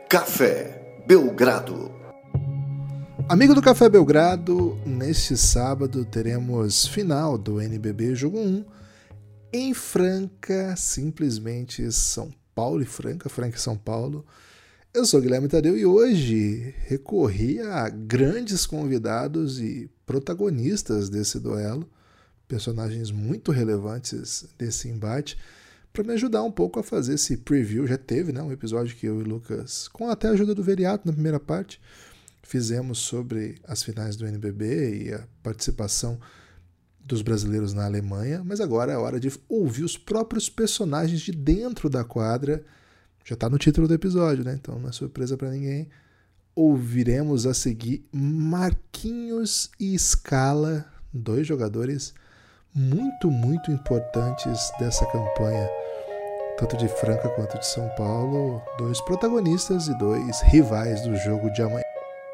Café Belgrado. Amigo do Café Belgrado, neste sábado teremos final do NBB Jogo 1 em Franca, simplesmente São Paulo e Franca e São Paulo. Eu sou Guilherme Tadeu e hoje recorri a grandes convidados e protagonistas desse duelo, personagens muito relevantes desse embate, para me ajudar um pouco a fazer esse preview. Já teve, né, um episódio que eu e o Lucas, com até a ajuda do Veriato na primeira parte, fizemos sobre as finais do NBB e a participação dos brasileiros na Alemanha, mas agora é hora de ouvir os próprios personagens de dentro da quadra. Já está no título do episódio, né? Então não é surpresa para ninguém. Ouviremos a seguir Marquinhos e Scala, dois jogadores muito importantes dessa campanha, tanto de Franca quanto de São Paulo, dois protagonistas e dois rivais do jogo de amanhã.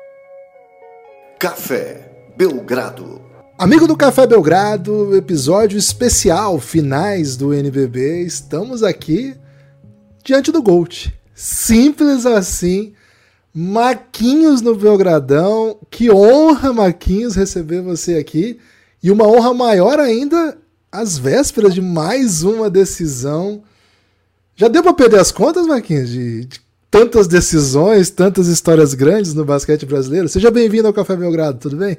Café Belgrado. Amigo do Café Belgrado, episódio especial, finais do NBB, estamos aqui diante do Gold. Simples assim, Marquinhos no Belgradão. Que honra, Marquinhos, receber você aqui. E uma honra maior ainda, às vésperas de mais uma decisão. Já deu para perder as contas, Marquinhos, de tantas decisões, tantas histórias grandes no basquete brasileiro? Seja bem-vindo ao Café Belgrado, tudo bem?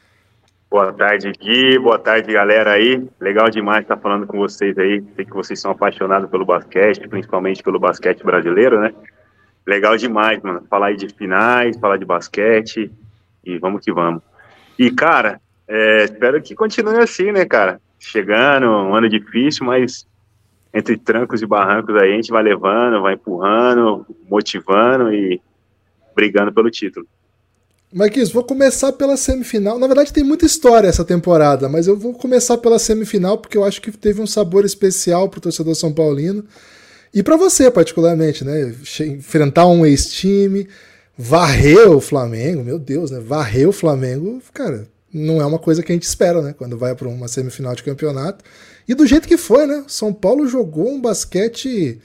Boa tarde, Gui. Boa tarde, galera aí. Legal demais estar falando com vocês aí. Sei que vocês são apaixonados pelo basquete, principalmente pelo basquete brasileiro, né? Legal demais, mano. Falar aí de finais, falar de basquete e vamos que vamos. E, cara, espero que continue assim, né, cara? Chegando, um ano difícil, mas entre trancos e barrancos aí a gente vai levando, vai empurrando, motivando e brigando pelo título. Marquinhos, vou começar pela semifinal. Na verdade tem muita história essa temporada, mas eu vou começar pela semifinal porque eu acho que teve um sabor especial pro torcedor são paulino e para você particularmente, né? Enfrentar um ex-time, varrer o Flamengo, meu Deus, né? Varrer o Flamengo, cara, não é uma coisa que a gente espera, né? Quando vai para uma semifinal de campeonato. E do jeito que foi, né? São Paulo jogou um basquete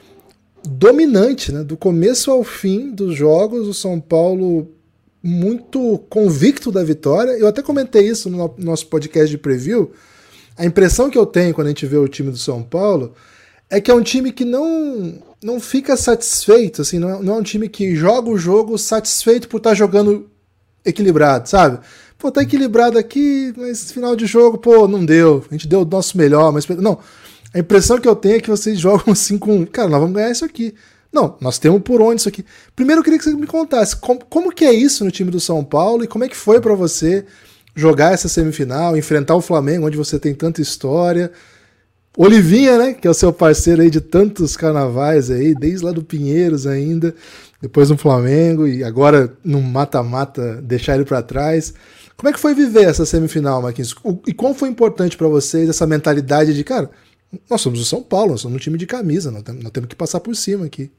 dominante, né? Do começo ao fim dos jogos, o São Paulo muito convicto da vitória. Eu até comentei isso no nosso podcast de preview. A impressão que eu tenho quando a gente vê o time do São Paulo é que é um time que não fica satisfeito, assim, não é um time que joga o jogo satisfeito por estar jogando equilibrado, sabe? Pô, tá equilibrado aqui, mas final de jogo, pô, não deu. A gente deu o nosso melhor, mas não. A impressão que eu tenho é que vocês jogam assim com... Cara, nós vamos ganhar isso aqui. Não, nós temos por onde isso aqui. Primeiro eu queria que você me contasse como que é isso no time do São Paulo e como é que foi pra você jogar essa semifinal, enfrentar o Flamengo, onde você tem tanta história. Olivinha, né, que é o seu parceiro aí de tantos carnavais aí, desde lá do Pinheiros ainda, depois no Flamengo e agora no mata-mata deixar ele pra trás. Como é que foi viver essa semifinal, Marquinhos? E como foi importante pra vocês essa mentalidade de, cara, nós somos o São Paulo, nós somos um time de camisa, nós temos que passar por cima aqui.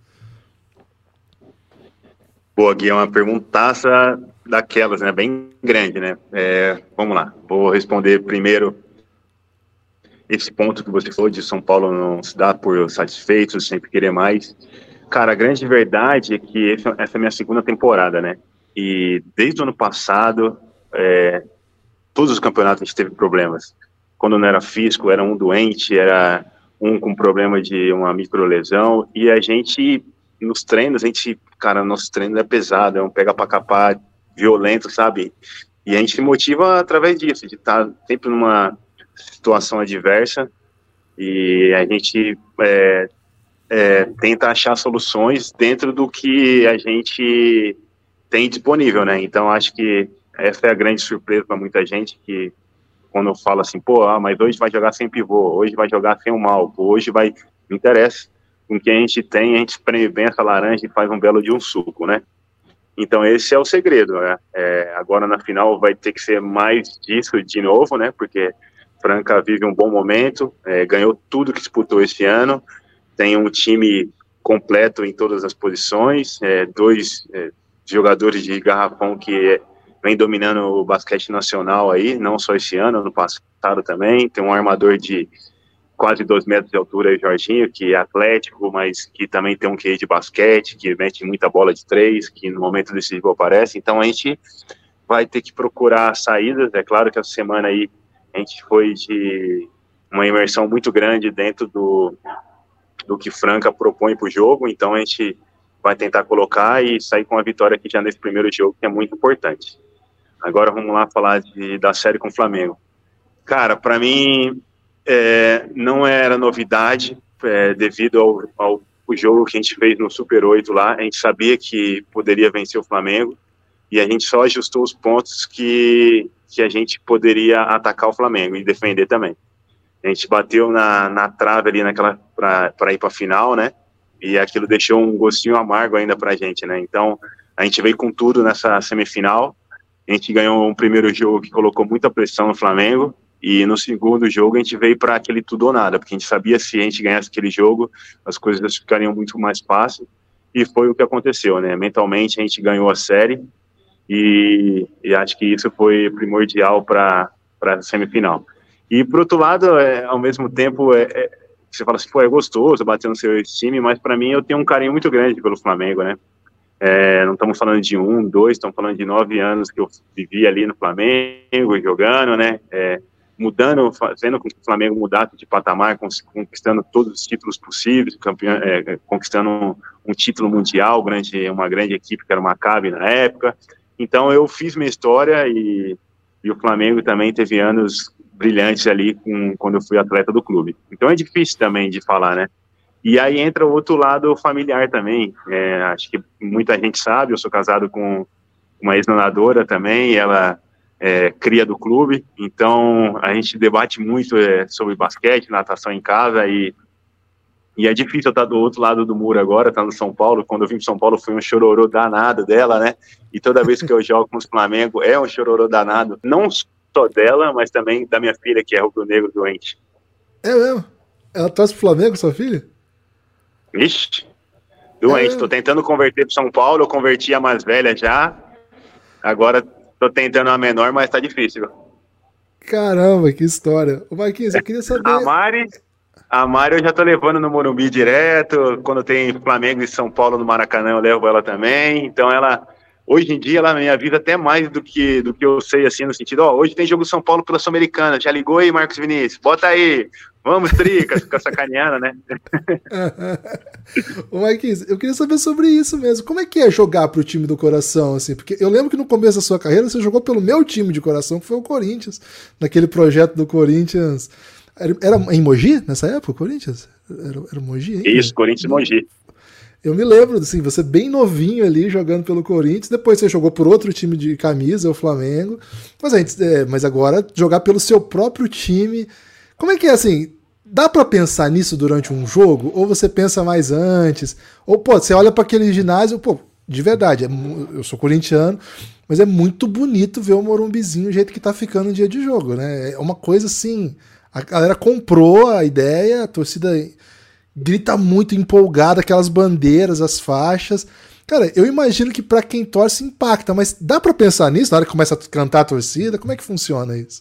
Boa, Gui, é uma perguntaça daquelas, né, bem grande, né? Vamos lá, vou responder primeiro esse ponto que você falou de São Paulo não se dar por satisfeito, sempre querer mais. Cara, a grande verdade é que essa é a minha segunda temporada, né? E desde o ano passado, todos os campeonatos a gente teve problemas. Quando não era físico, era um doente, era um com problema de uma microlesão, e a gente, nos treinos, nosso treino é pesado, é um pega pra capar violento, sabe? E a gente se motiva através disso, de estar sempre numa situação adversa, e a gente tenta achar soluções dentro do que a gente tem disponível, né? Então acho que essa é a grande surpresa para muita gente, que quando eu falo assim, mas hoje vai jogar sem pivô, hoje vai jogar sem o Malco, hoje vai... Não interessa. Com o que a gente tem, a gente espreme bem essa laranja e faz um belo de um suco, né? Então esse é o segredo, né? Agora na final vai ter que ser mais disso de novo, né? Porque Franca vive um bom momento, ganhou tudo que disputou esse ano, tem um time completo em todas as posições, dois jogadores de garrafão que vem dominando o basquete nacional aí, não só esse ano passado também, tem um armador de quase 2 metros de altura, o Jorginho, que é atlético, mas que também tem um QI de basquete, que mete muita bola de 3, que no momento decisivo aparece. Então a gente vai ter que procurar saídas. É claro que essa semana aí a gente foi de uma imersão muito grande dentro do que Franca propõe para o jogo, então a gente vai tentar colocar e sair com a vitória aqui já nesse primeiro jogo, que é muito importante. Agora vamos lá falar da série com o Flamengo. Cara, para mim não era novidade, devido ao jogo que a gente fez no Super 8 lá. A gente sabia que poderia vencer o Flamengo e a gente só ajustou os pontos que a gente poderia atacar o Flamengo e defender também. A gente bateu na trave ali para ir para a final, né? E aquilo deixou um gostinho amargo ainda para a gente, né? Então a gente veio com tudo nessa semifinal. A gente ganhou um primeiro jogo que colocou muita pressão no Flamengo. E no segundo jogo a gente veio para aquele tudo ou nada, porque a gente sabia que se a gente ganhasse aquele jogo, as coisas ficariam muito mais fáceis, e foi o que aconteceu, né? Mentalmente a gente ganhou a série, e acho que isso foi primordial para a semifinal. E por outro lado, ao mesmo tempo, você fala assim, pô, é gostoso bater no seu time, mas para mim eu tenho um carinho muito grande pelo Flamengo, né? Não estamos falando de 1, 2, estamos falando de 9 anos que eu vivi ali no Flamengo, jogando, né? Mudando, fazendo com que o Flamengo mudasse de patamar, conquistando todos os títulos possíveis, conquistando um título mundial, uma grande equipe que era o Maccabi na época. Então eu fiz minha história e o Flamengo também teve anos brilhantes ali quando eu fui atleta do clube. Então é difícil também de falar, né? E aí entra o outro lado familiar também. Acho que muita gente sabe, eu sou casado com uma ex-nadadora também, e ela cria do clube, então a gente debate muito sobre basquete, natação em casa, e é difícil eu estar do outro lado do muro agora, estar no São Paulo. Quando eu vim para São Paulo foi um chororô danado dela, né, e toda vez que eu jogo com os Flamengo é um chororô danado, não só dela, mas também da minha filha, que é rubro-negro doente. É mesmo? Ela torce pro Flamengo, sua filha? Vixe, doente, tô tentando converter pro São Paulo, eu converti a mais velha já, agora tô tentando a menor, mas tá difícil. Caramba, que história. Ô Marquinhos, eu queria saber... A Mari eu já tô levando no Morumbi direto, quando tem Flamengo e São Paulo no Maracanã eu levo ela também, então ela, hoje em dia, ela me avisa até mais do que eu sei, assim, no sentido, hoje tem jogo São Paulo pela Sul-Americana, já ligou aí, Marcos Vinícius, bota aí, vamos, Tricas, fica sacaneando, né? Ô Marquinhos, eu queria saber sobre isso mesmo, como é que é jogar pro time do coração, assim, porque eu lembro que no começo da sua carreira você jogou pelo meu time de coração, que foi o Corinthians, naquele projeto do Corinthians, era em Mogi, nessa época, o Corinthians? Era Mogi ainda? Isso, Corinthians Mogi. Eu me lembro, assim, você bem novinho ali, jogando pelo Corinthians, depois você jogou por outro time de camisa, o Flamengo, mas agora jogar pelo seu próprio time, como é que é, assim, dá pra pensar nisso durante um jogo? Ou você pensa mais antes? Ou, você olha para aquele ginásio, de verdade, eu sou corintiano, mas é muito bonito ver o Morumbizinho, o jeito que tá ficando no dia de jogo, né? É uma coisa assim, a galera comprou a ideia, a torcida grita muito empolgada, aquelas bandeiras, as faixas. Cara, eu imagino que pra quem torce impacta, mas dá pra pensar nisso na hora que começa a cantar a torcida? Como é que funciona isso?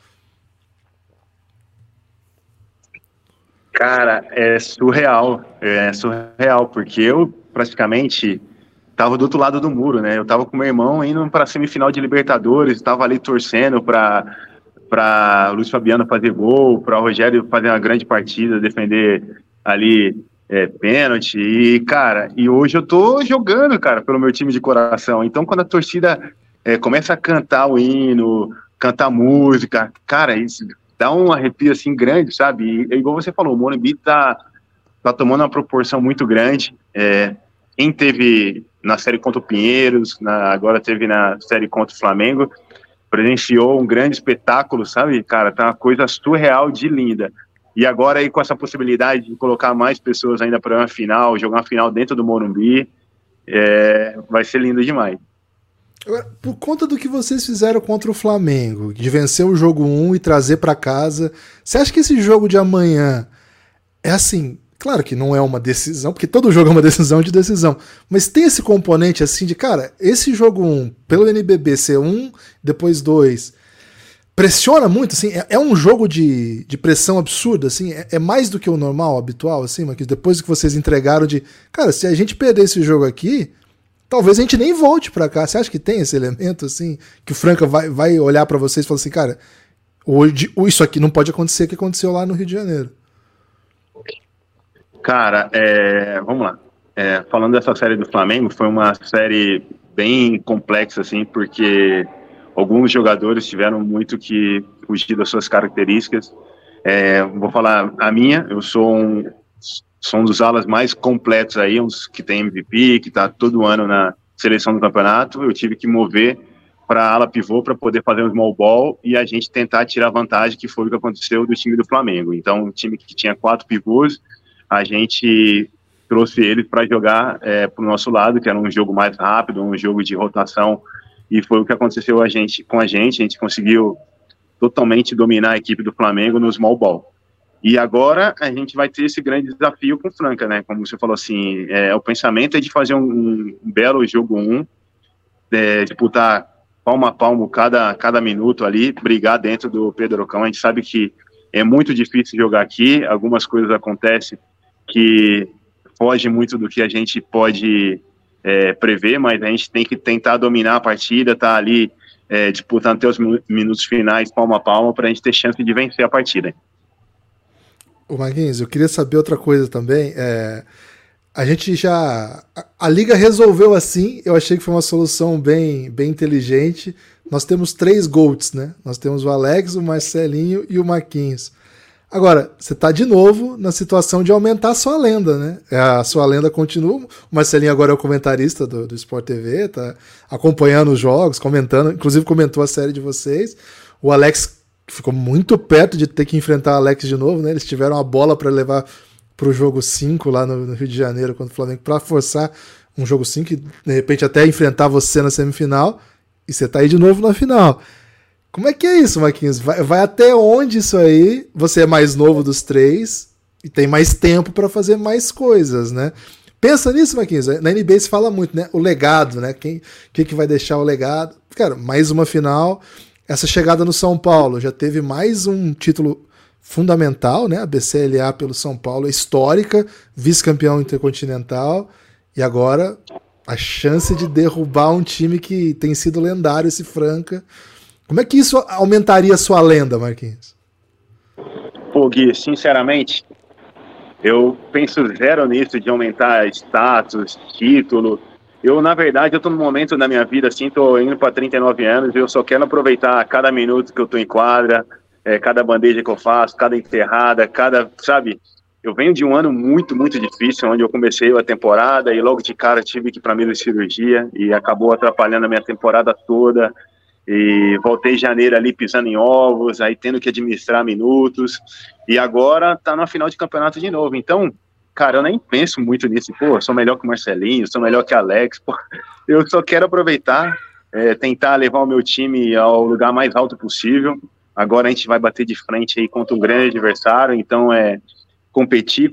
Cara, é surreal, porque eu praticamente tava do outro lado do muro, né? Eu tava com meu irmão indo pra semifinal de Libertadores, tava ali torcendo pra Luiz Fabiano fazer gol, pra Rogério fazer uma grande partida, defender ali pênalti, e cara, e hoje eu tô jogando, cara, pelo meu time de coração. Então quando a torcida começa a cantar o hino, cantar música, cara, isso dá um arrepio assim grande, sabe? E igual você falou, o Morumbi tá tomando uma proporção muito grande. Quem teve na série contra o Pinheiros, agora teve na série contra o Flamengo, presenciou um grande espetáculo, sabe? Cara, tá uma coisa surreal de linda. E agora aí com essa possibilidade de colocar mais pessoas ainda para uma final, jogar uma final dentro do Morumbi, vai ser lindo demais. Agora, por conta do que vocês fizeram contra o Flamengo, de vencer o jogo 1 e trazer para casa, você acha que esse jogo de amanhã é assim, claro que não é uma decisão, porque todo jogo é uma decisão de decisão, mas tem esse componente assim de, cara, esse jogo 1, pelo NBB ser 1, depois 2, pressiona muito, assim, é um jogo de pressão absurda, assim, é mais do que o normal, habitual, assim, mas depois que vocês entregaram cara, se a gente perder esse jogo aqui, talvez a gente nem volte pra cá. Você acha que tem esse elemento, assim, que o Franca vai olhar pra vocês e falar assim, cara, hoje, isso aqui não pode acontecer que aconteceu lá no Rio de Janeiro? Cara, vamos lá. Falando dessa série do Flamengo, foi uma série bem complexa, assim, porque alguns jogadores tiveram muito que fugir das suas características. Vou falar a minha, eu sou um dos alas mais completos aí, uns que tem MVP, que está todo ano na seleção do campeonato. Eu tive que mover para ala pivô para poder fazer um small ball e a gente tentar tirar vantagem, que foi o que aconteceu do time do Flamengo. Então, um time que tinha 4 pivôs, a gente trouxe eles para jogar para o nosso lado, que era um jogo mais rápido, um jogo de rotação, e foi o que aconteceu com a gente conseguiu totalmente dominar a equipe do Flamengo no small ball. E agora a gente vai ter esse grande desafio com o Franca, né? Como você falou assim, o pensamento é de fazer um belo jogo 1, disputar palmo a palmo cada minuto ali, brigar dentro do Pedrocão. A gente sabe que é muito difícil jogar aqui, algumas coisas acontecem que fogem muito do que a gente pode prever, mas a gente tem que tentar dominar a partida, tá ali disputando até os minutos finais, palmo a palmo, para a gente ter chance de vencer a partida. Ô Marquinhos, eu queria saber outra coisa também. A gente já... A Liga resolveu assim, eu achei que foi uma solução bem inteligente. Nós temos 3 GOATs, né? Nós temos o Alex, o Marcelinho e o Marquinhos. Agora, você tá de novo na situação de aumentar a sua lenda, né? A sua lenda continua. O Marcelinho agora é o comentarista do Sport TV, tá acompanhando os jogos, comentando, inclusive comentou a série de vocês. O Alex ficou muito perto de ter que enfrentar o Alex de novo, né? Eles tiveram a bola para levar pro jogo 5 lá no Rio de Janeiro contra o Flamengo, para forçar um jogo 5 e de repente até enfrentar você na semifinal, e você tá aí de novo na final. Como é que é isso, Marquinhos? Vai até onde isso aí? Você é mais novo dos 3 e tem mais tempo para fazer mais coisas, né? Pensa nisso, Marquinhos. Na NBA se fala muito, né? O legado, né? Quem que vai deixar o legado? Cara, mais uma final. Essa chegada no São Paulo já teve mais um título fundamental, né? A BCLA pelo São Paulo, histórica, vice-campeão intercontinental, e agora a chance de derrubar um time que tem sido lendário, esse Franca. Como é que isso aumentaria a sua lenda, Marquinhos? Pô, Gui, sinceramente, eu penso zero nisso de aumentar status, título. Na verdade, eu tô num momento da minha vida, assim, tô indo para 39 anos, eu só quero aproveitar cada minuto que eu tô em quadra, cada bandeja que eu faço, cada enterrada, sabe? Eu venho de um ano muito, muito difícil, onde eu comecei a temporada e logo de cara tive que ir para mesa de cirurgia e acabou atrapalhando a minha temporada toda. E voltei em janeiro ali pisando em ovos, aí tendo que administrar minutos, e agora tá na final de campeonato de novo. Então, cara, eu nem penso muito nisso. Pô, eu sou melhor que o Marcelinho, sou melhor que o Alex. Pô, eu só quero aproveitar, tentar levar o meu time ao lugar mais alto possível. Agora a gente vai bater de frente aí contra um grande adversário, então competir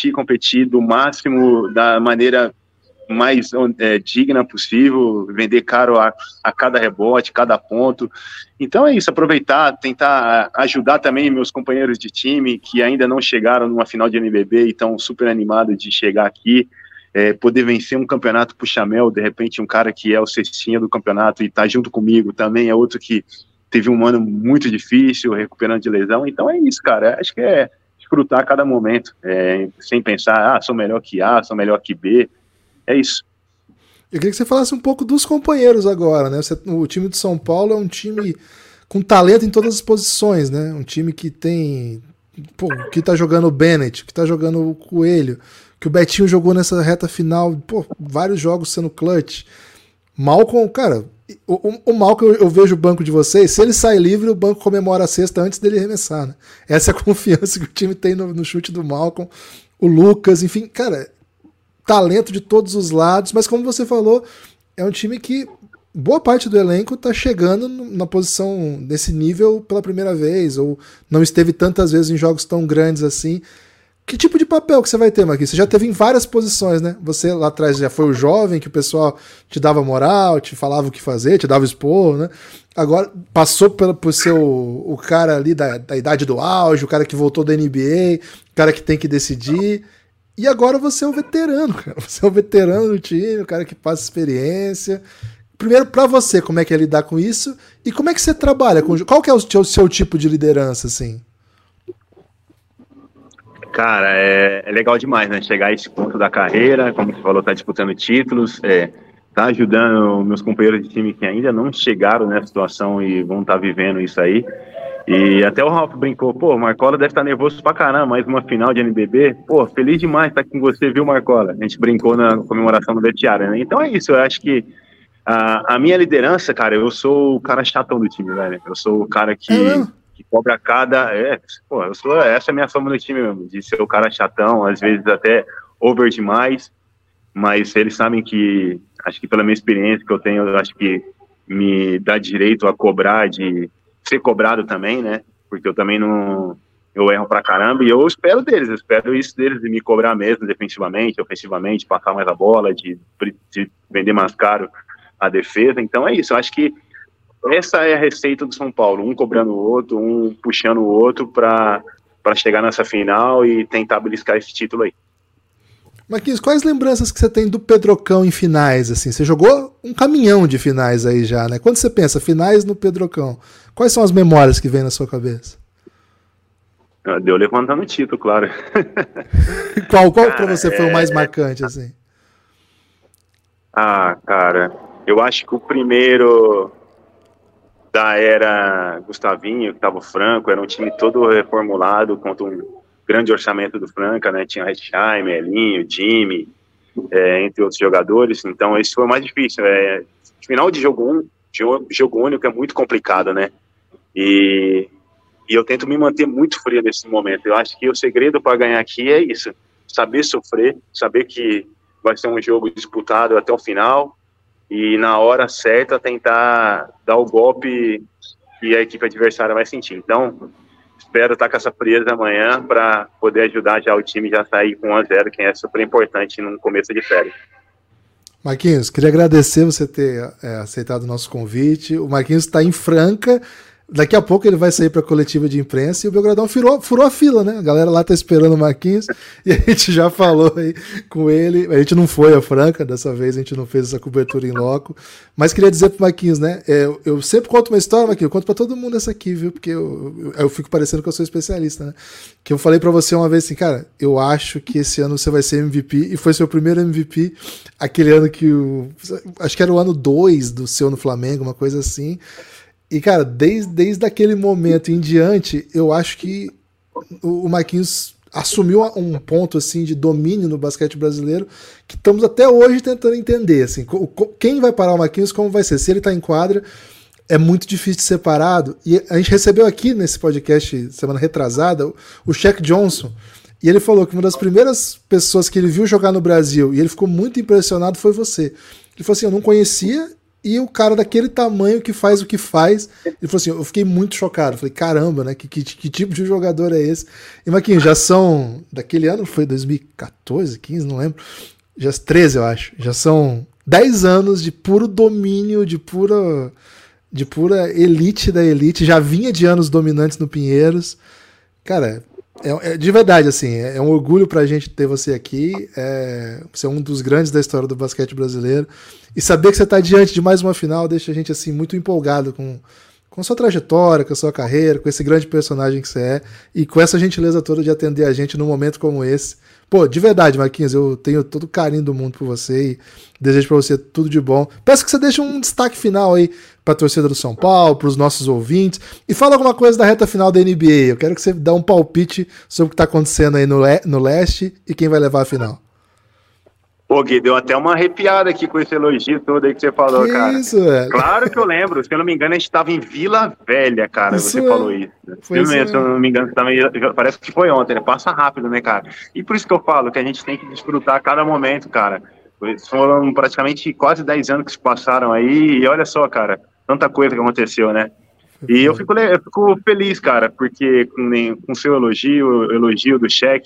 do máximo, da maneira mais digna possível, vender caro a cada rebote, cada ponto. Então é isso, aproveitar, tentar ajudar também meus companheiros de time que ainda não chegaram numa final de NBB e estão super animados de chegar aqui, poder vencer um campeonato puxa-mel, de repente um cara que é o cestinha do campeonato e tá junto comigo também, é outro que teve um ano muito difícil, recuperando de lesão. Então é isso, cara, acho que é desfrutar cada momento, sem pensar, sou melhor que A, sou melhor que B. É isso. Eu queria que você falasse um pouco dos companheiros agora, né? O time de São Paulo é um time com talento em todas as posições, né? Um time que tem... Pô, que tá jogando o Bennett, que tá jogando o Coelho, que o Betinho jogou nessa reta final, pô, vários jogos sendo clutch. Malcom, cara, o Malcom, eu vejo o banco de vocês, se ele sai livre, o banco comemora a cesta antes dele arremessar, né? Essa é a confiança que o time tem no chute do Malcom. O Lucas, enfim, cara... talento de todos os lados, mas como você falou, é um time que boa parte do elenco está chegando na posição desse nível pela primeira vez, ou não esteve tantas vezes em jogos tão grandes assim. Que tipo de papel que você vai ter, Marquinhos? Você já teve em várias posições, né? Você lá atrás já foi o jovem, que o pessoal te dava moral, te falava o que fazer, te dava expor, né? Agora passou por ser o cara ali da idade do auge, o cara que voltou da NBA, o cara que tem que decidir. E agora você é o veterano, cara. Você é o veterano do time, o cara que passa experiência. Primeiro, pra você, como é que é lidar com isso? E como é que você trabalha? Qual que é o seu tipo de liderança, assim? Cara, é legal demais, né? Chegar a esse ponto da carreira, como você falou, tá disputando títulos, tá ajudando meus companheiros de time que ainda não chegaram nessa situação e vão estar vivendo isso aí. E até o Ralf brincou, pô, o Marcola deve estar nervoso pra caramba, mais uma final de NBB. Pô, feliz demais estar com você, viu, Marcola? A gente brincou na comemoração do vestiário, né? Então é isso, eu acho que a minha liderança, cara, eu sou o cara chatão do time, velho. Eu sou o cara que cobra cada... essa é a minha fama no time mesmo, de ser o cara chatão, às vezes até over demais, mas eles sabem que, acho que pela minha experiência que eu tenho, eu acho que me dá direito a cobrar, de ser cobrado também, né, porque eu também não... Eu erro pra caramba e eu espero deles, eu espero isso deles, de me cobrar mesmo, defensivamente, ofensivamente, passar mais a bola, de vender mais caro a defesa. Então é isso, eu acho que essa é a receita do São Paulo, um cobrando o outro, um puxando o outro para chegar nessa final e tentar beliscar esse título aí. Marquinhos, quais lembranças que você tem do Pedrocão em finais? Assim? Você jogou um caminhão de finais aí já, né? Quando você pensa finais no Pedrocão, quais são as memórias que vêm na sua cabeça? Deu levantando o título, claro. Qual para você foi o mais marcante, assim? Cara, eu acho que o primeiro da era Gustavinho, que estava o Franco, era um time todo reformulado, contra um grande orçamento do Franca, né? Tinha Hetzheim, Elinho, Jimmy, entre outros jogadores. Então, esse foi o mais difícil. Final de jogo único é muito complicado, né? E eu tento me manter muito frio nesse momento. Eu acho que o segredo para ganhar aqui é isso: saber sofrer, saber que vai ser um jogo disputado até o final, e na hora certa tentar dar o golpe que a equipe adversária vai sentir. Então, espero estar com essa frieza amanhã para poder ajudar já o time já sair com 1-0, que é super importante no começo de série. Marquinhos, queria agradecer você ter aceitado o nosso convite. O Marquinhos está em Franca. Daqui a pouco ele vai sair para a coletiva de imprensa e o Belgradão furou a fila, né? A galera lá tá esperando o Marquinhos e a gente já falou aí com ele. A gente não foi a Franca, dessa vez a gente não fez essa cobertura em loco. Mas queria dizer pro Marquinhos, né? Eu sempre conto uma história, Marquinhos, eu conto para todo mundo essa aqui, viu? Porque eu fico parecendo que eu sou especialista, né? Que eu falei para você uma vez assim, cara, eu acho que esse ano você vai ser MVP, e foi seu primeiro MVP, aquele ano que acho que era o ano 2 do seu no Flamengo, uma coisa assim. E, cara, desde aquele momento em diante, eu acho que o Marquinhos assumiu um ponto assim de domínio no basquete brasileiro que estamos até hoje tentando entender. Assim, quem vai parar o Marquinhos, como vai ser? Se ele está em quadra, é muito difícil de ser parado. E a gente recebeu aqui nesse podcast, semana retrasada, o Shaq Johnson. E ele falou que uma das primeiras pessoas que ele viu jogar no Brasil, e ele ficou muito impressionado, foi você. Ele falou assim, eu não conhecia... E o cara daquele tamanho que faz o que faz, ele falou assim, eu fiquei muito chocado. Eu falei, caramba, né? Que tipo de jogador é esse? E, Marquinhos, já são, daquele ano, foi 2014, 15, não lembro, já 13, eu acho. Já são 10 anos de puro domínio, de pura elite da elite. Já vinha de anos dominantes no Pinheiros. Cara, de verdade, assim, é um orgulho pra gente ter você aqui. Você é um dos grandes da história do basquete brasileiro. E saber que você está diante de mais uma final deixa a gente assim muito empolgado com a sua trajetória, com a sua carreira, com esse grande personagem que você é, e com essa gentileza toda de atender a gente num momento como esse. Pô, de verdade, Marquinhos, eu tenho todo o carinho do mundo por você e desejo para você tudo de bom. Peço que você deixe um destaque final aí para a torcida do São Paulo, para os nossos ouvintes, e fala alguma coisa da reta final da NBA. Eu quero que você dê um palpite sobre o que está acontecendo aí no leste e quem vai levar a final. Pô, Gui, deu até uma arrepiada aqui com esse elogio todo aí que você falou, cara. Isso, velho. Claro que eu lembro. Se eu não me engano, a gente tava em Vila Velha, cara. Você falou isso. Se eu não me engano, parece que foi ontem, né? Passa rápido, né, cara? E por isso que eu falo que a gente tem que desfrutar cada momento, cara. Foram praticamente quase 10 anos que se passaram aí. E olha só, cara, tanta coisa que aconteceu, né? E eu fico feliz, cara, porque com seu elogio do Shaq,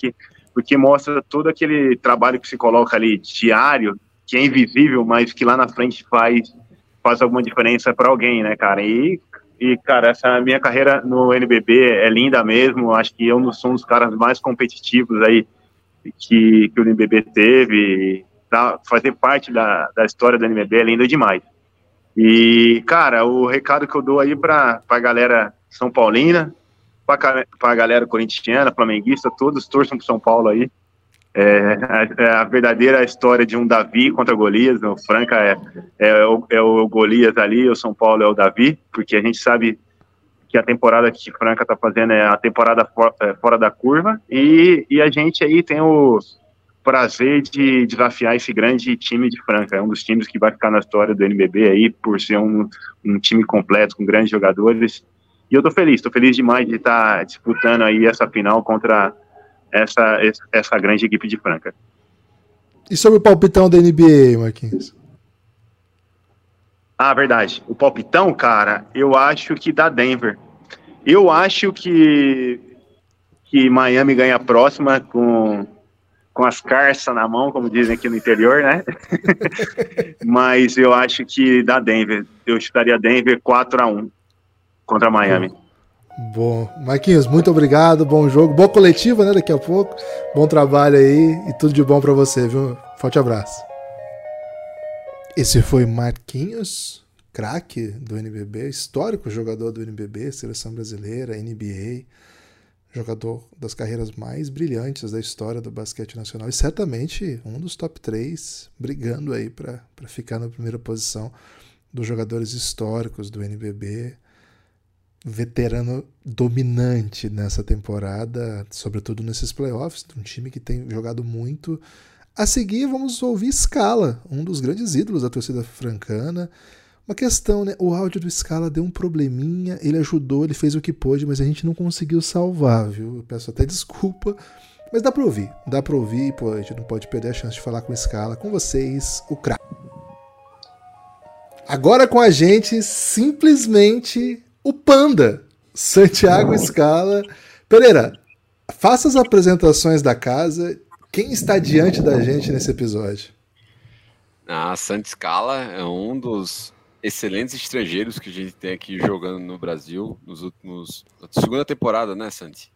porque mostra todo aquele trabalho que se coloca ali diário, que é invisível, mas que lá na frente faz alguma diferença para alguém, né, cara? E, cara, essa minha carreira no NBB é linda mesmo, acho que eu sou um dos caras mais competitivos aí que o NBB teve, fazer parte da história do NBB é linda demais. E, cara, o recado que eu dou aí pra galera São Paulina, pra galera corintiana, flamenguista, todos torçam pro São Paulo aí. A verdadeira história de um Davi contra Golias. O Franca é o Golias ali, o São Paulo é o Davi, porque a gente sabe que a temporada que Franca tá fazendo é a temporada fora da curva, e a gente aí tem o prazer de desafiar esse grande time de Franca. É um dos times que vai ficar na história do NBB aí, por ser um time completo, com grandes jogadores, e eu tô feliz demais de estar disputando aí essa final contra essa grande equipe de Franca. E sobre o palpitão da NBA, Marquinhos? Ah, verdade. O palpitão, cara, eu acho que dá Denver. Eu acho que Miami ganha a próxima com as carças na mão, como dizem aqui no interior, né? Mas eu acho que dá Denver. Eu chutaria Denver 4-1 contra Miami. Bom, Marquinhos, muito obrigado, bom jogo, boa coletiva, né, daqui a pouco, bom trabalho aí e tudo de bom pra você, viu? Forte abraço. Esse foi Marquinhos, craque do NBB, histórico jogador do NBB, Seleção Brasileira, NBA, jogador das carreiras mais brilhantes da história do basquete nacional e certamente um dos top 3, brigando aí pra ficar na primeira posição dos jogadores históricos do NBB. Veterano dominante nessa temporada, sobretudo nesses playoffs, de um time que tem jogado muito. A seguir, vamos ouvir Scala, um dos grandes ídolos da torcida francana. Uma questão, né? O áudio do Scala deu um probleminha, ele ajudou, ele fez o que pôde, mas a gente não conseguiu salvar, viu? Eu peço até desculpa, mas dá pra ouvir, pô, a gente não pode perder a chance de falar com o Scala. Com vocês, o craque. Agora com a gente, simplesmente o Panda, Santiago Scala. Pereira, faça as apresentações da casa. Quem está diante da gente nesse episódio? Santi Scala é um dos excelentes estrangeiros que a gente tem aqui jogando no Brasil nos últimos... Segunda temporada, né, Santi?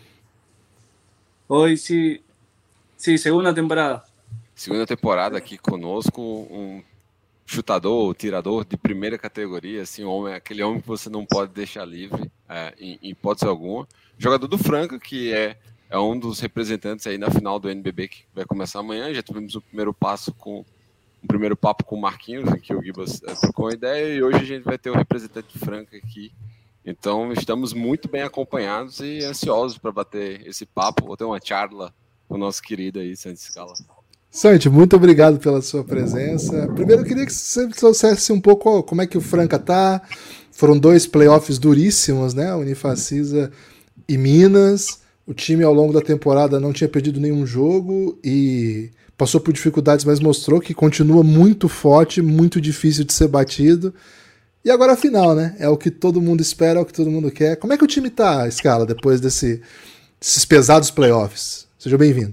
Oi, sim, segunda temporada. Segunda temporada aqui conosco, um chutador, tirador de primeira categoria, assim, aquele homem que você não pode deixar livre, em hipótese alguma. Jogador do Franca, que é um dos representantes aí na final do NBB, que vai começar amanhã. Já tivemos o primeiro papo com o Marquinhos, em que o Gibas trocou uma ideia, e hoje a gente vai ter o representante de Franca aqui. Então, estamos muito bem acompanhados e ansiosos para bater esse papo. Vou ter uma charla com o nosso querido aí, Santi Scala. Santi, muito obrigado pela sua presença. Primeiro, eu queria que você trouxesse um pouco como é que o Franca tá. Foram 2 playoffs duríssimos, né? Unifacisa e Minas. O time, ao longo da temporada, não tinha perdido nenhum jogo e passou por dificuldades, mas mostrou que continua muito forte, muito difícil de ser batido. E agora a final, né? É o que todo mundo espera, é o que todo mundo quer. Como é que o time tá, Scala, depois desses pesados playoffs? Seja bem-vindo.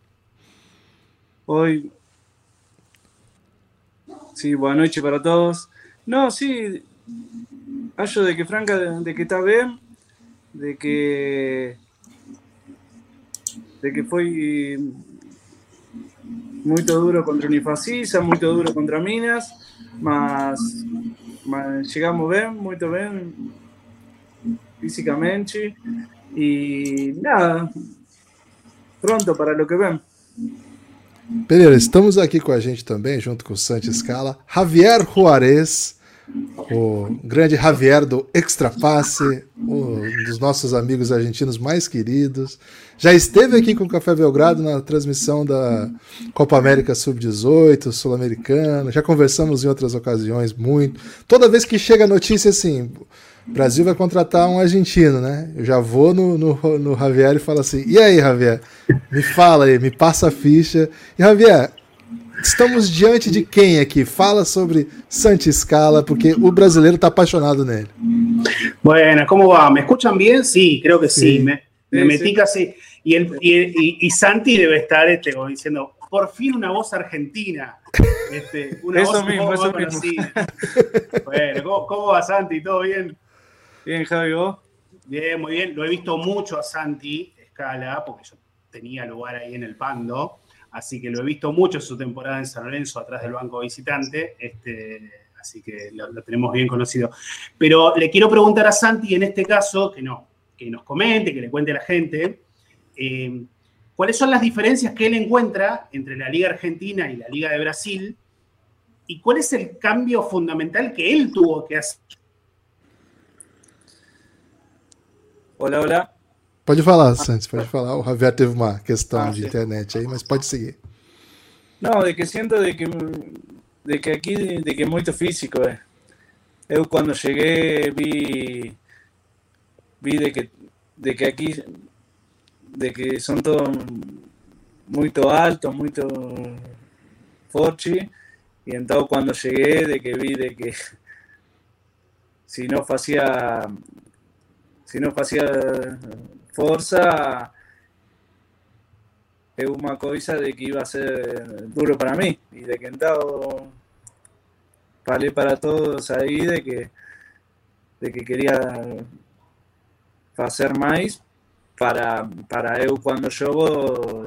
Oi. Sí, buenas noches para todos. No, sí, acho de que Franca, de que está bien, de que foi muito duro contra Unifacisa, muito duro contra Minas, mas chegamos bem, muito bem, fisicamente, e nada, pronto para lo que vem. Pereira, estamos aqui com a gente também, junto com o Santi Scala, Javier Juarez, o grande Javier do Extra Passe, um dos nossos amigos argentinos mais queridos. Já esteve aqui com o Café Belgrado na transmissão da Copa América Sub-18, Sul-Americana. Já conversamos em outras ocasiões muito. Toda vez que chega a notícia assim, o Brasil vai contratar um argentino, né? Eu já vou no Javier e falo assim, e aí, Javier? Me fala aí, me passa a ficha. E, Javier, estamos diante de quem aqui? Fala sobre Santi Scala, porque o brasileiro está apaixonado nele. Bueno, ¿cómo va? ¿Me escuchan bien? Sí, creo que sí. Me metí casi. Y Santi debe estar como diciendo, por fin una voz argentina. Una eso voz mismo, eso conocida. Bueno, ¿cómo va Santi? ¿Todo bien? Bien, Javi, ¿vos? Bien, muy bien. Lo he visto mucho a Santi Scala, porque yo tenía lugar ahí en el Pando, así que lo he visto mucho en su temporada en San Lorenzo, atrás del banco visitante, así que lo tenemos bien conocido. Pero le quiero preguntar a Santi, en este caso, que nos comente, que le cuente a la gente, ¿cuáles son las diferencias que él encuentra entre la Liga Argentina y la Liga de Brasil? ¿Y cuál es el cambio fundamental que él tuvo que hacer? Olá. Pode falar, Santos, pode falar. O Javier teve uma questão de internet aí, mas pode seguir. Não, de que siento de que aqui de que é muito físico. Eu quando cheguei vi de que aqui de que são todos muito altos, muito fortes, e então quando cheguei de que vi de que se não fazia força, é uma coisa de que iba a ser duro para mim, e de que então falei para todos aí de que queria fazer mais para eu quando jogo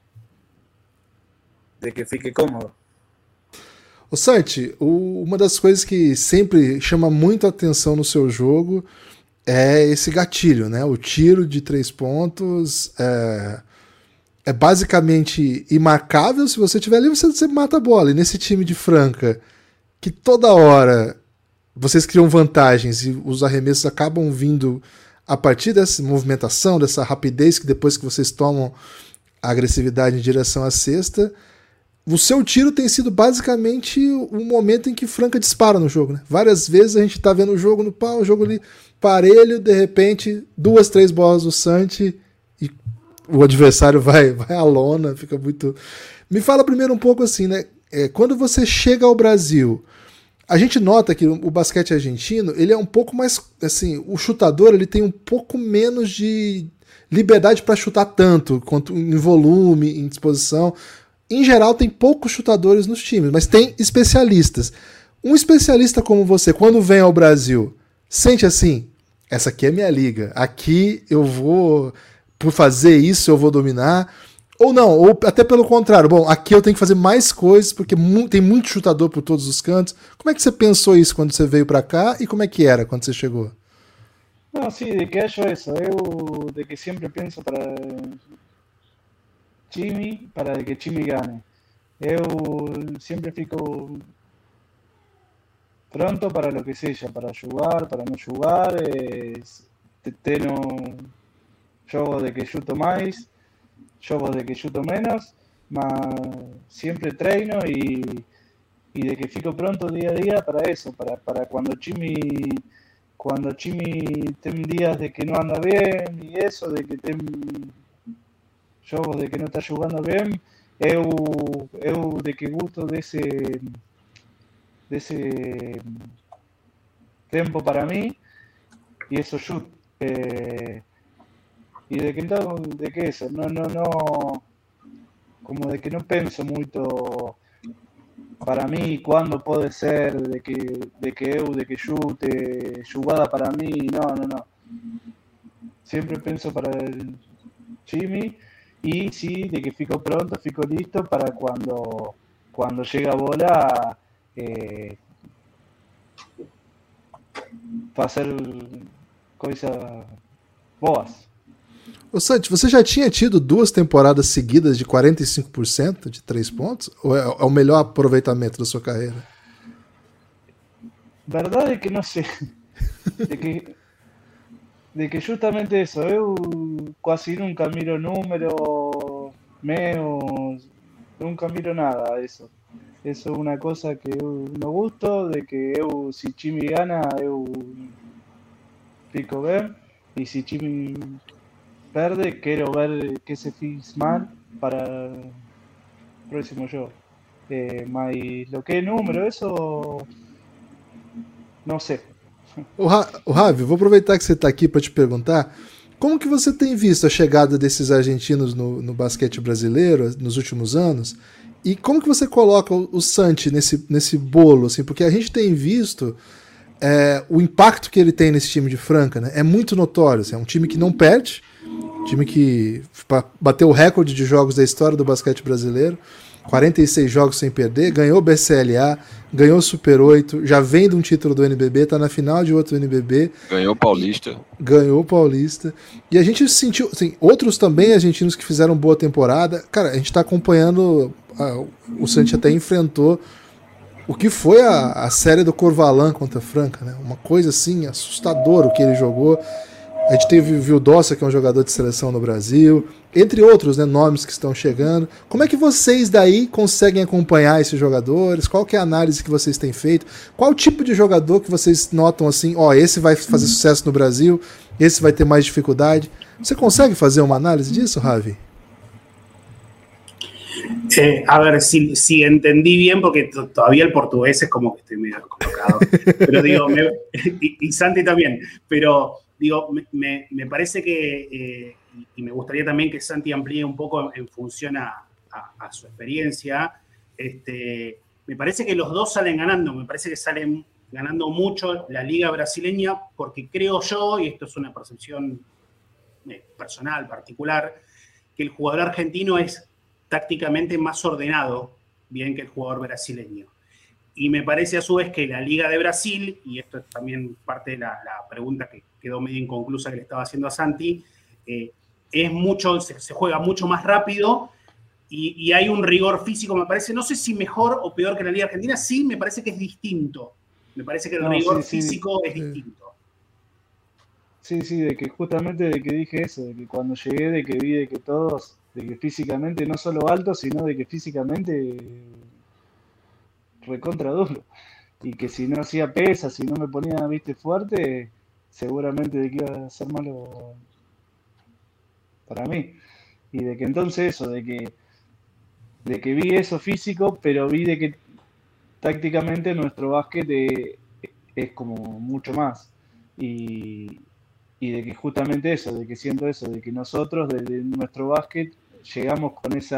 de que fique cômodo. Ô Santi, uma das coisas que sempre chama muito a atenção no seu jogo é esse gatilho, né? O tiro de 3 pontos é basicamente imarcável. Se você tiver ali, você mata a bola. E nesse time de Franca, que toda hora vocês criam vantagens e os arremessos acabam vindo a partir dessa movimentação, dessa rapidez que depois que vocês tomam a agressividade em direção à cesta, o seu tiro tem sido basicamente o momento em que Franca dispara no jogo, né? Várias vezes a gente tá vendo o jogo no pau, o jogo ali parelho, de repente 2, 3 bolas do Santi e o adversário vai à lona, fica muito... Me fala primeiro um pouco assim, né? Quando você chega ao Brasil, a gente nota que o basquete argentino, ele é um pouco mais, assim, o chutador ele tem um pouco menos de liberdade para chutar tanto, quanto em volume, em disposição. Em geral, tem poucos chutadores nos times, mas tem especialistas. Um especialista como você, quando vem ao Brasil, sente assim, essa aqui é minha liga, aqui eu vou, por fazer isso, eu vou dominar, ou não, ou até pelo contrário, bom, aqui eu tenho que fazer mais coisas, porque tem muito chutador por todos os cantos. Como é que você pensou isso quando você veio para cá, e como é que era quando você chegou? Não, sim, de que acho isso, eu de que sempre penso para Jimmy, para que Jimmy gane. Eu sempre fico pronto para lo que seja, para jugar, para não jugar, tenho jogo de que chuto mais, jogo de que chuto menos, mas sempre treino e de que fico pronto dia a dia para isso, para quando Jimmy tem dias de que não anda bem e isso, de que tem jogos de que não está jogando bem, eu de que gosto desse tempo para mim e isso chute. E de que então, de que isso, não, como de que não penso muito para mim quando pode ser de que chute, jogada para mim, não. Sempre penso para Jimmy. Y sí, de que fico pronto, fico listo para cuando llega a bola fazer coisas boas. Ô Santi, você já tinha tido 2 temporadas seguidas de 45% de 3 pontos? Ou é o melhor aproveitamento da sua carreira? Verdade é que não sei. De que justamente isso, eu quase nunca miro números meus, nunca miro nada disso. Isso é uma coisa que eu não gosto, de que eu, se Jimmy gana, eu fico bem, e se Jimmy perde, quero ver que se fiz mal para o próximo jogo. Mas o que é número, isso não sei. O Ravi, vou aproveitar que você está aqui para te perguntar Como que você tem visto a chegada desses argentinos no basquete brasileiro nos últimos anos? E como que você coloca o Santi nesse bolo? Assim, porque a gente tem visto o impacto que ele tem nesse time de Franca, né? É muito notório. Assim, é um time que não perde, um time que bateu o recorde de jogos da história do basquete brasileiro, 46 jogos sem perder, ganhou o BCLA, ganhou o Super 8, já vem de um título do NBB, tá na final de outro NBB. Ganhou o Paulista. Ganhou o Paulista. E a gente sentiu, assim, outros também argentinos que fizeram boa temporada. Cara, a gente tá acompanhando, o Santi até enfrentou o que foi a série do Corvalan contra a Franca, né? Uma coisa assim, assustadora o que ele jogou. A gente teve o Vildossa, que é um jogador de seleção no Brasil, entre outros, né, nomes que estão chegando. Como é que vocês daí conseguem acompanhar esses jogadores? Qual que é a análise que vocês têm feito? Qual tipo de jogador que vocês notam assim, esse vai fazer sucesso no Brasil, esse vai ter mais dificuldade? Você consegue fazer uma análise disso, Ravi? A ver si entendí bien, porque todavía el portugués es como que estoy medio descolocado. Pero digo, y Santi también, pero digo, me parece que, y me gustaría también que Santi amplíe un poco en función a su experiencia, me parece que los dos salen ganando, me parece que salen ganando mucho la liga brasileña, porque creo yo, y esto es una percepción personal, particular, que el jugador argentino es tácticamente más ordenado, bien que el jugador brasileño. Y me parece a su vez que la Liga de Brasil, y esto es también parte de la pregunta que quedó medio inconclusa que le estaba haciendo a Santi, se juega mucho más rápido y hay un rigor físico, me parece, no sé si mejor o peor que la Liga Argentina, sí, me parece que es distinto. Me parece que el rigor físico es distinto. Sí, de que justamente de que dije eso, de que cuando llegué, de que vi de que todos, de que físicamente no solo altos, sino de que físicamente recontra duro. Y que si no hacía pesas, si no me ponía, viste, fuerte, seguramente de que iba a ser malo para mí. Y de que entonces eso, de que vi eso físico, pero vi de que tácticamente nuestro básquet es como mucho más. Y de que justamente eso, de que siento eso, de que nosotros desde nuestro básquet llegamos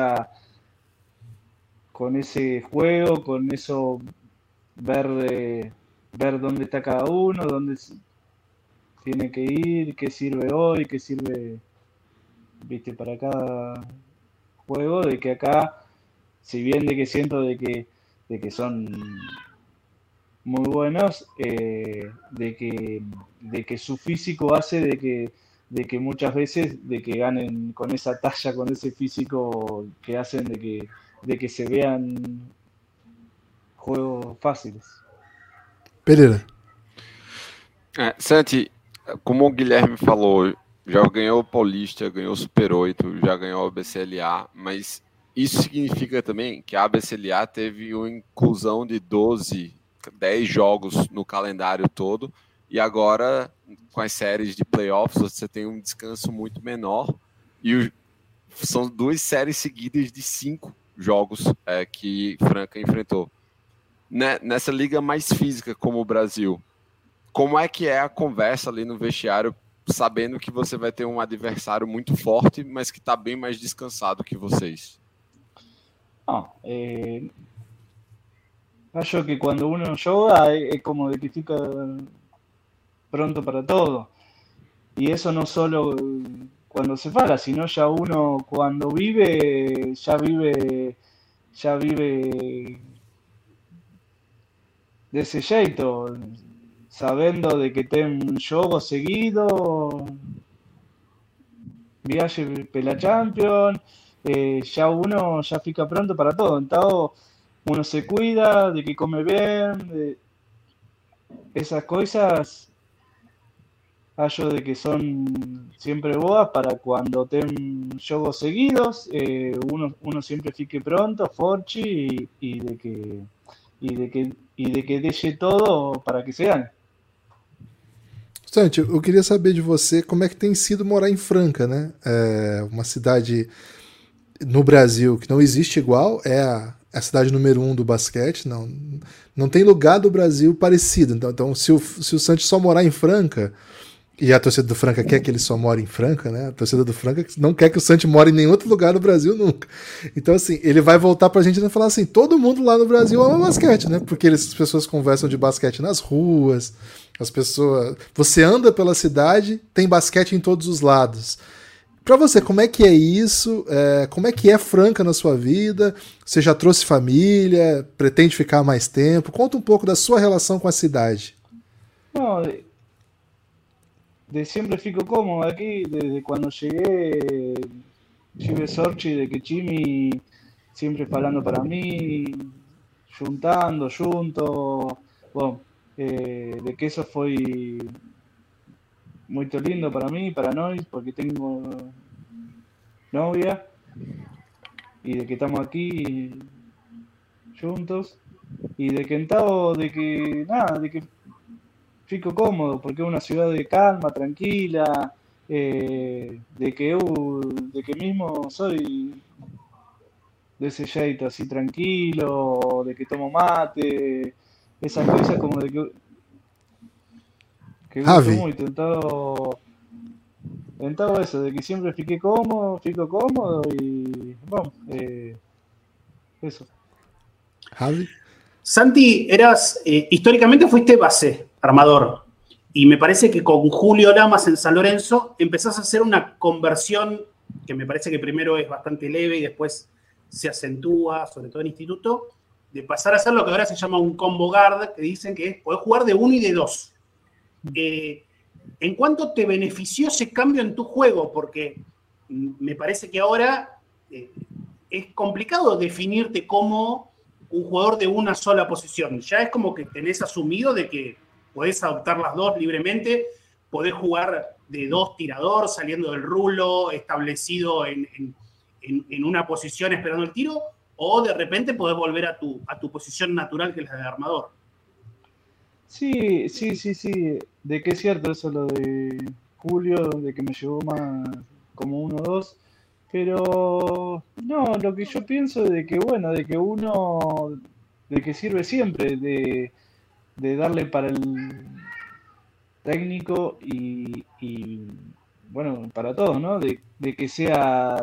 con ese juego, con eso, ver dónde está cada uno, dónde tiene que ir, qué sirve hoy, qué sirve, viste, para cada juego, de que acá, si bien de que siento de que son muy buenos, de que su físico hace de que muchas veces de que ganen con esa talla, con ese físico que hacen de que se vean juegos fáciles. Pereira. Santi, como o Guilherme falou, já ganhou o Paulista, ganhou o Super 8, já ganhou o BCLA, mas isso significa também que a BCLA teve uma inclusão de 10 jogos no calendário todo, e agora, com as séries de playoffs, você tem um descanso muito menor, e são 2 séries seguidas de 5 jogos que Franca enfrentou. Nessa liga mais física como o Brasil, como é que é a conversa ali no vestiário, sabendo que você vai ter um adversário muito forte, mas que está bem mais descansado que vocês? Acho que cuando uno yoga es como de que fica pronto para todo. Y eso no solo cuando se fala, sino ya uno cuando vive, ya vive desse jeito, sabendo de que tem un jogo seguido, viaje pela Champions, ya uno ya fica pronto para todo. Entonces, uno se cuida, de que come bien, esas cosas, hallo de que son siempre boas para cuando ten jogos seguidos, uno siempre fique pronto, forte y de que deixe todo para que se gane. Santi, eu queria saber de você como é que tem sido morar em Franca, né? Uma cidade no Brasil que não existe igual, é a cidade número 1 do basquete, não tem lugar do Brasil parecido. Então se o Santi só morar em Franca, E a torcida do Franca quer que ele só more em Franca, né? A torcida do Franca não quer que o Santi more em nenhum outro lugar no Brasil nunca. Então, assim, ele vai voltar pra gente e falar assim, todo mundo lá no Brasil ama basquete, né? Porque as pessoas conversam de basquete nas ruas, as pessoas... Você anda pela cidade, tem basquete em todos os lados. Pra você, como é que é isso? Como é que é Franca na sua vida? Você já trouxe família? Pretende ficar mais tempo? Conta um pouco da sua relação com a cidade. No, de siempre fico cómodo aquí, desde cuando llegué, tive sorte de que Chimi siempre falando para mí, juntando, junto, bueno, de que eso foi muito lindo para mí, para nós, porque tengo novia, y de que estamos aquí juntos, y de que de que, nada, de que fico cómodo, porque es una ciudad de calma, tranquila, de que mismo soy de ese jeito así tranquilo, de que tomo mate, esas cosas como de que gusto Javi. mucho, en todo eso, de que siempre fico cómodo y bueno, eso. Javi? Santi, históricamente fuiste base, armador, y me parece que con Julio Lamas en San Lorenzo empezás a hacer una conversión que me parece que primero es bastante leve y después se acentúa, sobre todo en instituto, de pasar a hacer lo que ahora se llama un combo guard, que dicen que es poder jugar de 1 y de 2. ¿En cuánto te benefició ese cambio en tu juego? Porque me parece que ahora es complicado definirte como un jugador de una sola posición. Ya es como que tenés asumido de que podés adoptar las dos libremente, podés jugar de 2 tirador, saliendo del rulo, establecido en una posición esperando el tiro, o de repente podés volver a tu posición natural, que es la de armador. Sí, de que es cierto eso lo de Julio, de que me llevó más como 1-2, pero no, lo que yo pienso es de que bueno, de que uno, de que sirve siempre, de darle para el técnico y bueno, para todos, ¿no? De que sea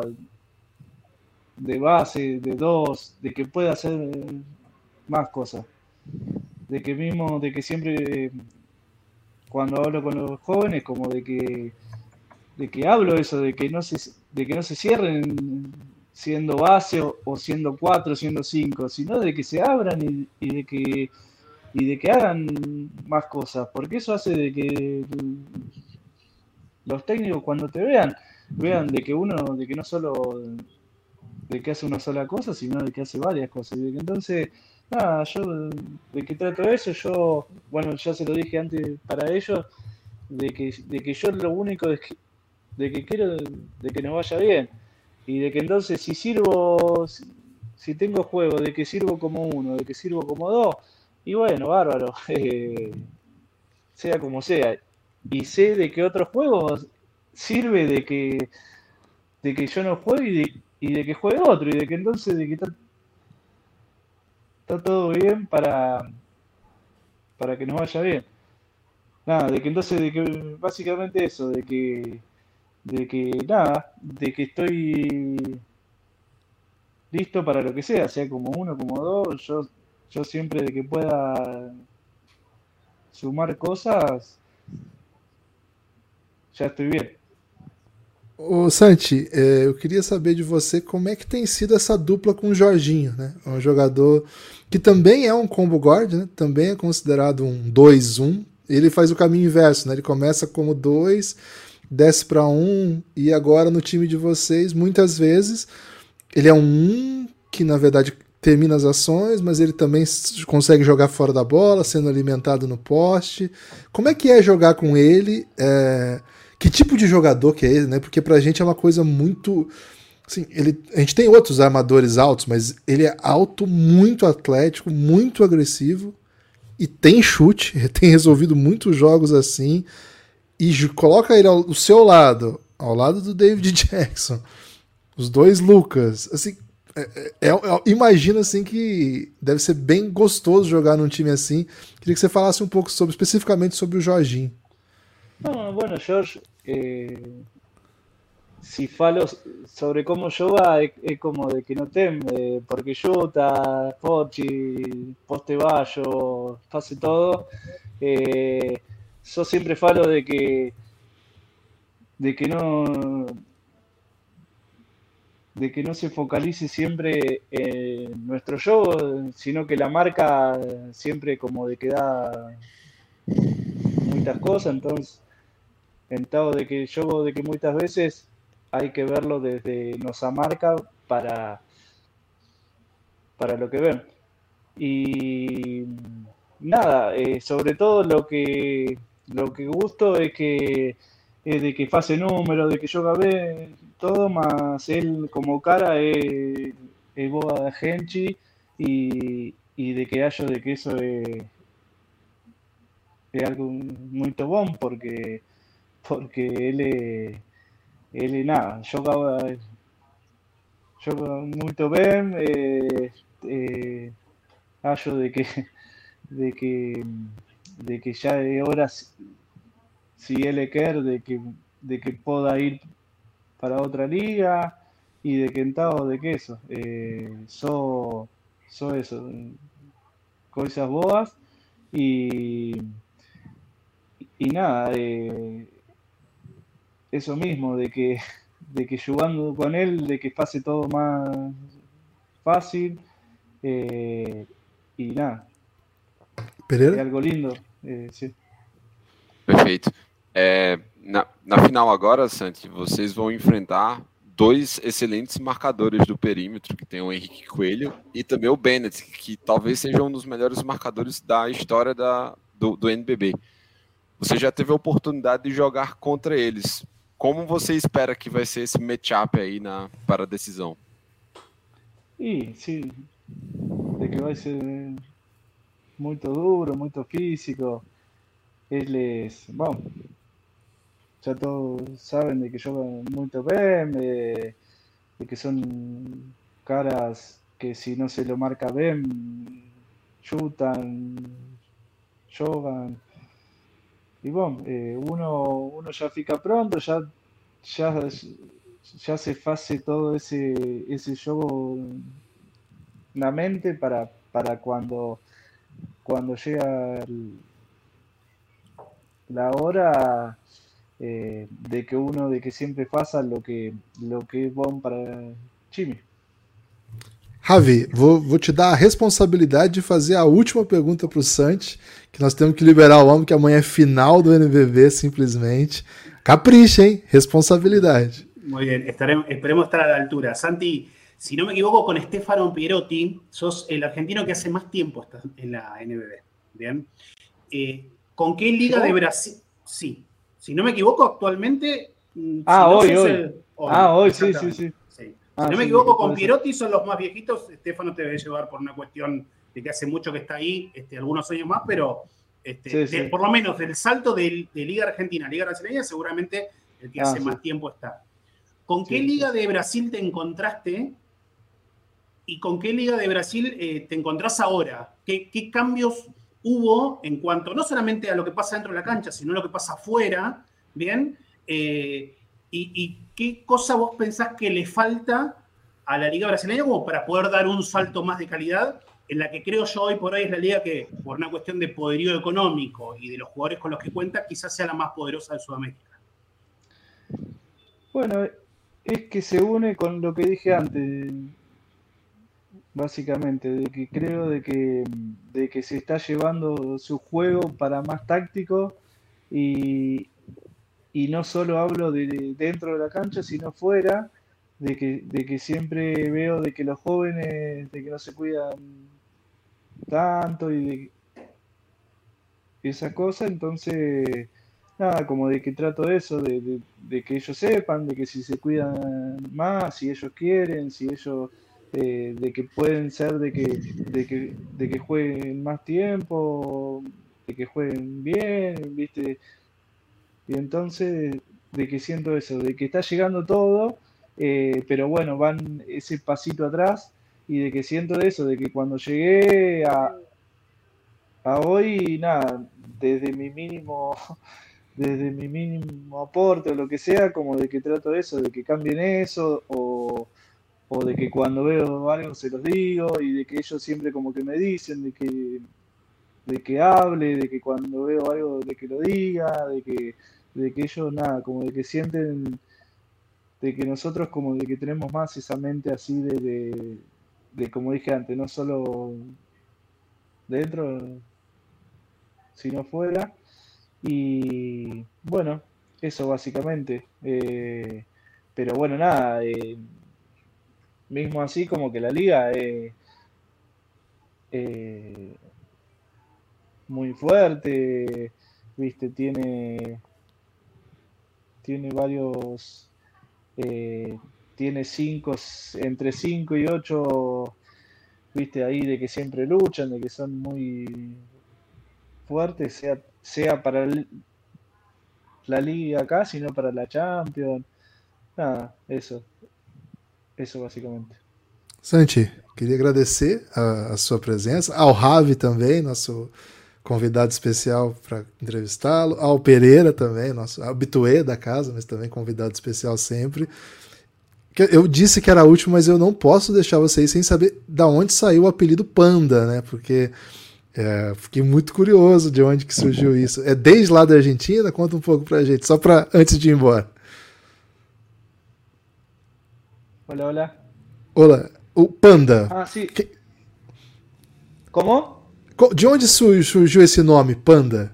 de base, de 2, de que pueda hacer más cosas. De que siempre cuando hablo con los jóvenes, como de que hablo eso, de que no se cierren siendo base o siendo 4, siendo 5, sino de que se abran y de que hagan más cosas, porque eso hace de que los técnicos cuando te vean de que no solo de que hace una sola cosa, sino de que hace varias cosas, y de que entonces nada, yo de que trato eso, bueno, ya se lo dije antes para ellos, de que yo lo único es de que quiero de que nos vaya bien, y de que entonces si tengo juego, de que sirvo como 1, de que sirvo como 2, y bueno, bárbaro, sea como sea, y sé de que otros juegos sirve de que yo no juegue y de que juegue otro, y de que entonces de que está todo bien para que nos vaya bien. Nada, de que entonces, de que básicamente eso, de que nada, de que estoy listo para lo que sea como 1, como 2, yo siempre de que pueda sumar cosas, já estou bem. Ô Santi, eu queria saber de você como é que tem sido essa dupla com o Jorginho, né? Um jogador que também é um combo guard, né? Também é considerado um 2-1. Ele faz o caminho inverso, né? Ele começa como 2, desce para 1 e agora no time de vocês, muitas vezes, ele é um 1 que na verdade termina as ações, mas ele também consegue jogar fora da bola, sendo alimentado no poste. Como é que é jogar com ele? Que tipo de jogador que é ele, né? Porque pra gente é uma coisa muito... Assim, a gente tem outros armadores altos, mas ele é alto, muito atlético, muito agressivo e tem chute, ele tem resolvido muitos jogos assim, e coloca ele ao seu lado, ao lado do David Jackson, os 2 Lucas, assim, imagina assim que deve ser bem gostoso jogar num time assim. Queria que você falasse um pouco especificamente sobre o Jorginho. No, bueno, George, si falo sobre cómo joga, es como de que no teme, porque Jota, Pochi, poste bajo, pase todo. Eh, yo siempre falo de que no, de que no se focalice siempre en nuestro juego, sino que la marca siempre como de que da muchas cosas, entonces, en dado de que yo de que muchas veces hay que verlo desde nuestra marca para lo que ven. Y nada, sobre todo lo que gusto es de que fase número, de que yo gabé todo, más él como cara es boa de Genchi y de que hallo de que eso es algo muy bom porque él es nada, joga muito bem, hallo de que, de que ya es hora, si él quer, de que pueda ir para otra liga y de que entado de que eso, so eso, cosas boas y, y nada, eso mismo, de que jugando con él, de que pase todo más fácil y nada, é Pereira? algo lindo, sí. Perfeito. Na final agora, Santi, vocês vão enfrentar dois excelentes marcadores do perímetro, que tem o Henrique Coelho e também o Bennett, que talvez seja um dos melhores marcadores da história do NBB. Você já teve a oportunidade de jogar contra eles. Como você espera que vai ser esse matchup aí para a decisão? Y sí, de que va a ser muy duro, muy físico. Él es, bueno, ya todos saben de que juegan muy bien, de que son caras que si no se lo marca bien, chutan, jogan. Y bueno, uno ya fica pronto, ya se hace todo ese juego en la mente para cuando llega la hora de que siempre pasa lo que es bom para Jimmy. Ravi, vou te dar a responsabilidade de fazer a última pergunta para o Santi, que nós temos que liberar o homem, que amanhã é final do NBB, simplesmente. Capricha, hein? Responsabilidade. Muy bien, esperemos estar a la altura. Santi, si no me equivoco, con Stefano Pierotti, sos el argentino que hace más tiempo está en la NBB. Bien. ¿Con qué liga de Brasil? Sí. Si no me equivoco, actualmente. Hoy. Hoy, sí. Si no me equivoco, con Pierotti son los más viejitos. Stefano te debe llevar por una cuestión de que hace mucho que está ahí, algunos años más, pero por lo menos del salto de Liga Argentina a Liga Brasileña, seguramente el que hace más tiempo está. ¿Con qué liga de Brasil te encontraste y con qué liga de Brasil te encontrás ahora? ¿Qué cambios hubo en cuanto no solamente a lo que pasa dentro de la cancha, sino a lo que pasa afuera? ¿Bien? ¿Y qué cosa vos pensás que le falta a la liga brasileña como para poder dar un salto más de calidad en la que creo yo hoy por hoy es la liga que, por una cuestión de poderío económico y de los jugadores con los que cuenta, quizás sea la más poderosa de Sudamérica? Bueno, es que se une con lo que dije antes, básicamente, de que creo de que se está llevando su juego para más táctico y no solo hablo de dentro de la cancha, sino fuera, de que siempre veo de que los jóvenes, de que no se cuidan tanto y de esa cosa, entonces, nada, como de que trato eso, de que ellos sepan, de que si se cuidan más, si ellos quieren, si ellos, de que pueden ser de que jueguen más tiempo, de que jueguen bien, ¿viste? Y entonces, de que siento eso, de que está llegando todo, pero bueno, van ese pasito atrás y de que siento eso, de que cuando llegué a hoy, nada, desde mi mínimo desde mi mínimo aporte o lo que sea, como de que trato eso, de que cambien eso, o de que cuando veo algo se los digo, y de que ellos siempre como que me dicen de que hable, de que cuando veo algo de que lo diga, de que ellos nada, como de que sienten de que nosotros como de que tenemos más esa mente así de como dije antes, no solo dentro, sino fuera. Y bueno, eso básicamente. Pero bueno, nada, mismo así como que la liga es muy fuerte, viste, tiene varios, eh, tiene entre 5 y 8, viste, ahí de que siempre luchan, de que son muy fuertes, sea para la liga acá, sino para la Champions. Nada, eso básicamente. Santi, queria agradecer a sua presença, ao Ravi também, nosso convidado especial para entrevistá-lo, ao Pereira também, nosso habitué da casa, mas também convidado especial sempre. Eu disse que era a última, mas eu não posso deixar vocês sem saber da onde saiu o apelido Panda, né? Porque fiquei muito curioso de onde que surgiu isso. É desde lá da Argentina? Conta um pouco pra gente, só para antes de ir embora. Hola. Olá, o Panda. Ah, sí. ¿Cómo? De onde surgiu esse nome, Panda?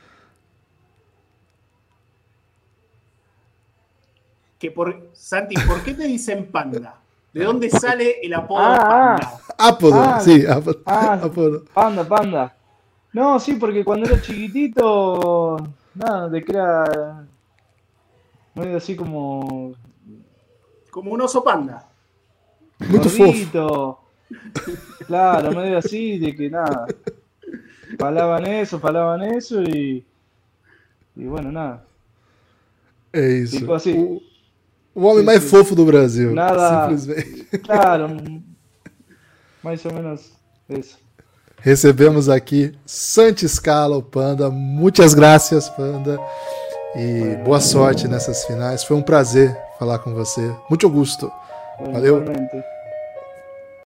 Santi, ¿por qué te dicen Panda? ¿De dónde sale el apodo Panda? Apodo, sí. Apodo. Panda. No, sí, porque cuando era chiquitito, nada, de que era medio así como un oso panda. Muito gordito. Claro, medio así, de que nada. Falaban eso y bueno, nada. É isso. Ficou assim. O homem mais fofo do Brasil. Nada. Simplesmente. Claro, mais ou menos isso. Recebemos aqui Santi Scala, o Panda. Muitas graças, Panda. E boa sorte nessas finais. Foi um prazer falar com você. Muito gosto. Valeu. Igualmente.